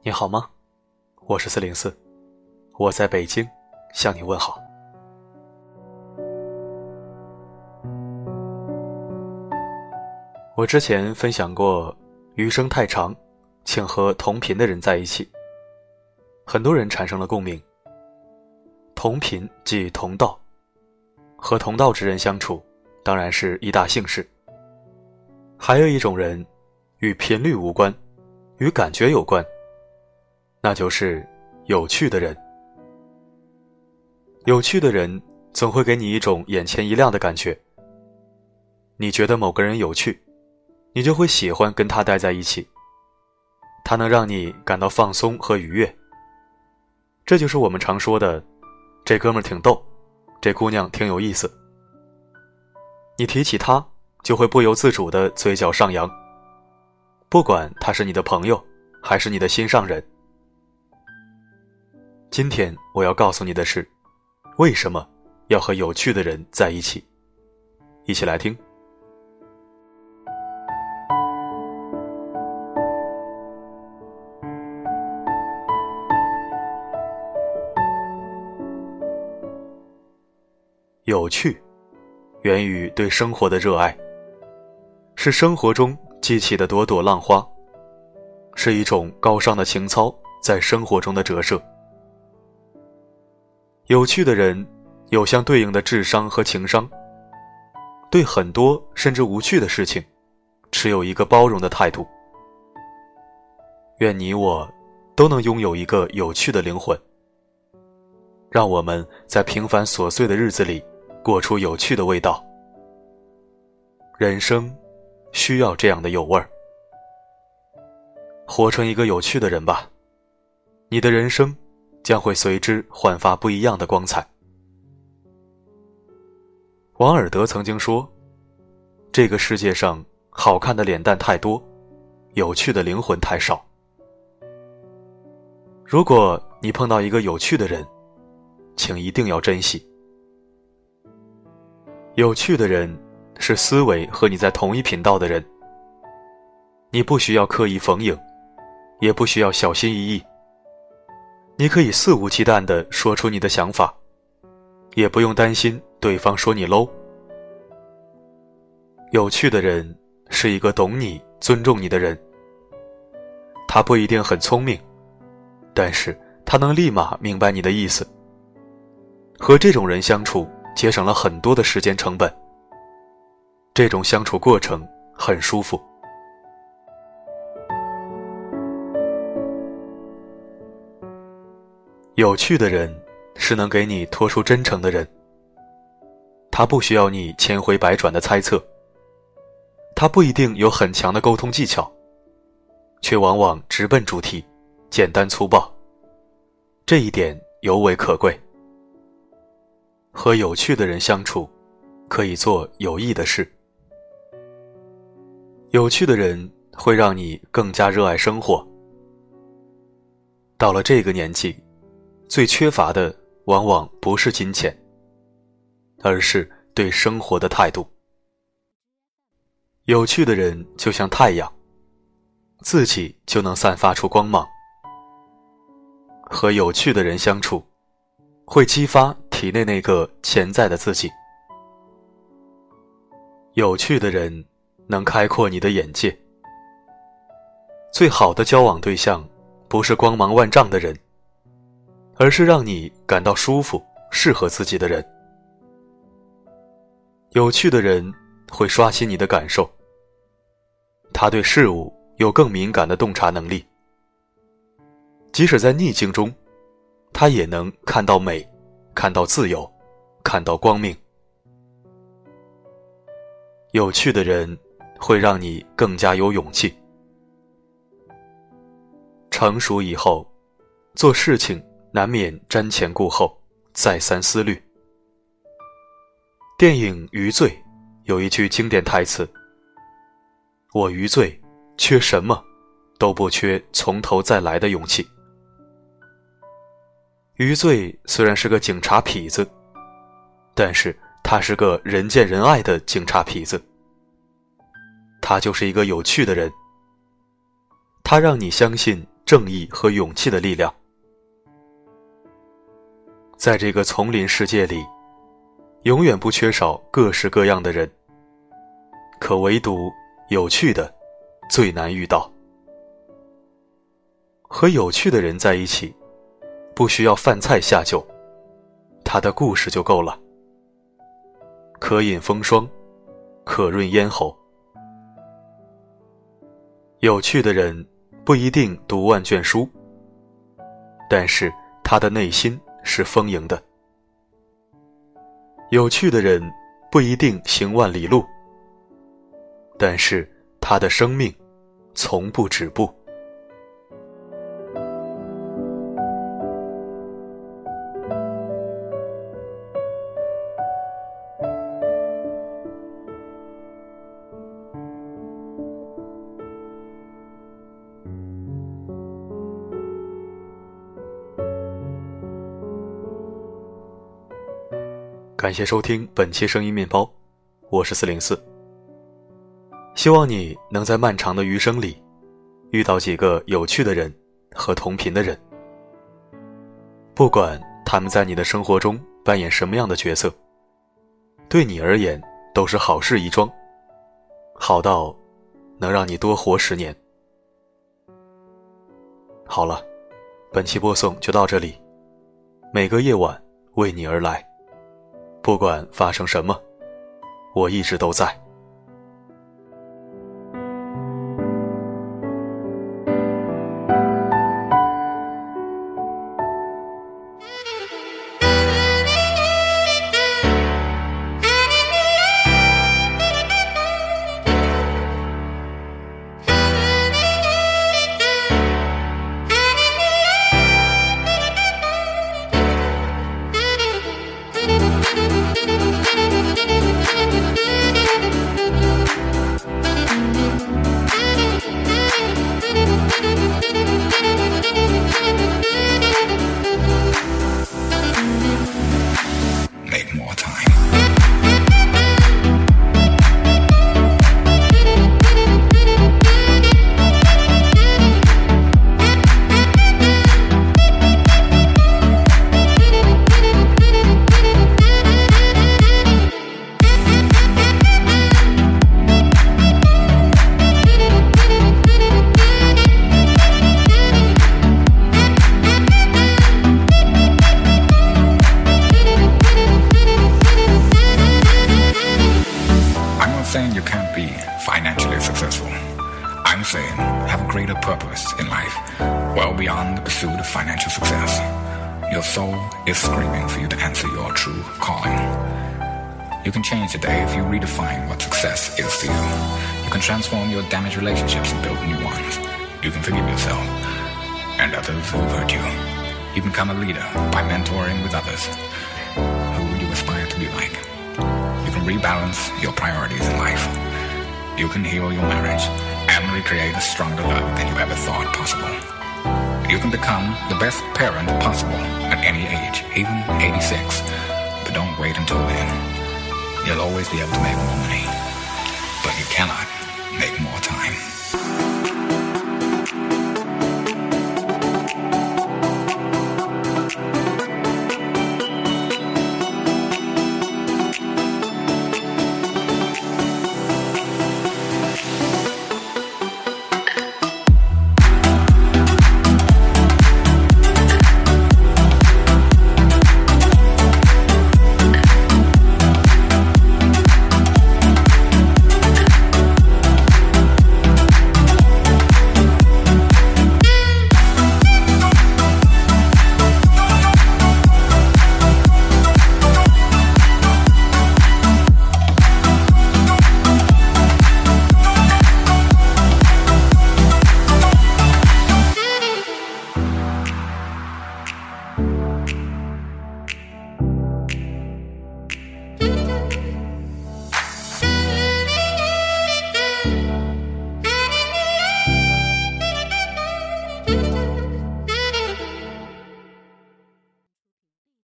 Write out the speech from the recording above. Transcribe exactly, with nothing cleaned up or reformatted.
你好吗？我是四零四，我在北京向你问好。我之前分享过余生太长，请和同频的人在一起，很多人产生了共鸣。同频即同道，和同道之人相处当然是一大幸事。还有一种人与频率无关，与感觉有关，那就是有趣的人。有趣的人总会给你一种眼前一亮的感觉，你觉得某个人有趣，你就会喜欢跟他待在一起，他能让你感到放松和愉悦。这就是我们常说的，这哥们儿挺逗，这姑娘挺有意思。你提起他，就会不由自主地嘴角上扬，不管他是你的朋友还是你的心上人。今天我要告诉你的是，为什么要和有趣的人在一起。一起来听。有趣源于对生活的热爱，是生活中激起的朵朵浪花，是一种高尚的情操在生活中的折射。有趣的人有相对应的智商和情商，对很多甚至无趣的事情持有一个包容的态度。愿你我都能拥有一个有趣的灵魂，让我们在平凡琐碎的日子里过出有趣的味道。人生需要这样的有味儿。活成一个有趣的人吧，你的人生将会随之焕发不一样的光彩。王尔德曾经说，这个世界上好看的脸蛋太多，有趣的灵魂太少。如果你碰到一个有趣的人，请一定要珍惜。有趣的人是思维和你在同一频道的人，你不需要刻意逢迎，也不需要小心翼翼，你可以肆无忌惮地说出你的想法，也不用担心对方说你 low。 有趣的人是一个懂你、尊重你的人，他不一定很聪明，但是他能立马明白你的意思。和这种人相处节省了很多的时间成本，这种相处过程很舒服。有趣的人是能给你拖出真诚的人，他不需要你千回百转的猜测，他不一定有很强的沟通技巧，却往往直奔主题，简单粗暴，这一点尤为可贵。和有趣的人相处，可以做有益的事。有趣的人会让你更加热爱生活。到了这个年纪，最缺乏的往往不是金钱，而是对生活的态度。有趣的人就像太阳，自己就能散发出光芒。和有趣的人相处，会激发体内那个潜在的自己。有趣的人能开阔你的眼界。最好的交往对象不是光芒万丈的人，而是让你感到舒服、适合自己的人。有趣的人会刷新你的感受，他对事物有更敏感的洞察能力，即使在逆境中，他也能看到美，看到自由，看到光明。有趣的人会让你更加有勇气。成熟以后，做事情难免瞻前顾后，再三思虑。电影《余罪》有一句经典台词，我余罪缺什么都不缺从头再来的勇气。余罪虽然是个警察痞子，但是他是个人见人爱的警察痞子。他就是一个有趣的人，他让你相信正义和勇气的力量。在这个丛林世界里，永远不缺少各式各样的人，可唯独有趣的最难遇到。和有趣的人在一起，不需要饭菜下酒，他的故事就够了。可饮风霜，可润咽喉。有趣的人不一定读万卷书，但是他的内心是丰盈的。有趣的人不一定行万里路，但是他的生命从不止步。感谢收听本期声音面包，我是四零四。希望你能在漫长的余生里遇到几个有趣的人和同频的人，不管他们在你的生活中扮演什么样的角色，对你而言都是好事一桩，好到能让你多活十年。好了，本期播送就到这里，每个夜晚为你而来，不管发生什么，我一直都在。 saying you can't be financially successful. I'm saying have a greater purpose in life, well beyond the pursuit of financial success. Your soul is screaming for you to answer your true calling. You can change today if you redefine what success is to you. You can transform your damaged relationships and build new ones. You can forgive yourself and others who hurt you. You can become a leader by mentoring with others who you aspire to be like. You can rebalance your priorities in life. You can heal your marriage and recreate a stronger love than you ever thought possible. You can become the best parent possible at any age, even eighty-six. But don't wait until then. You'll always be able to make more money, but you cannot make more time.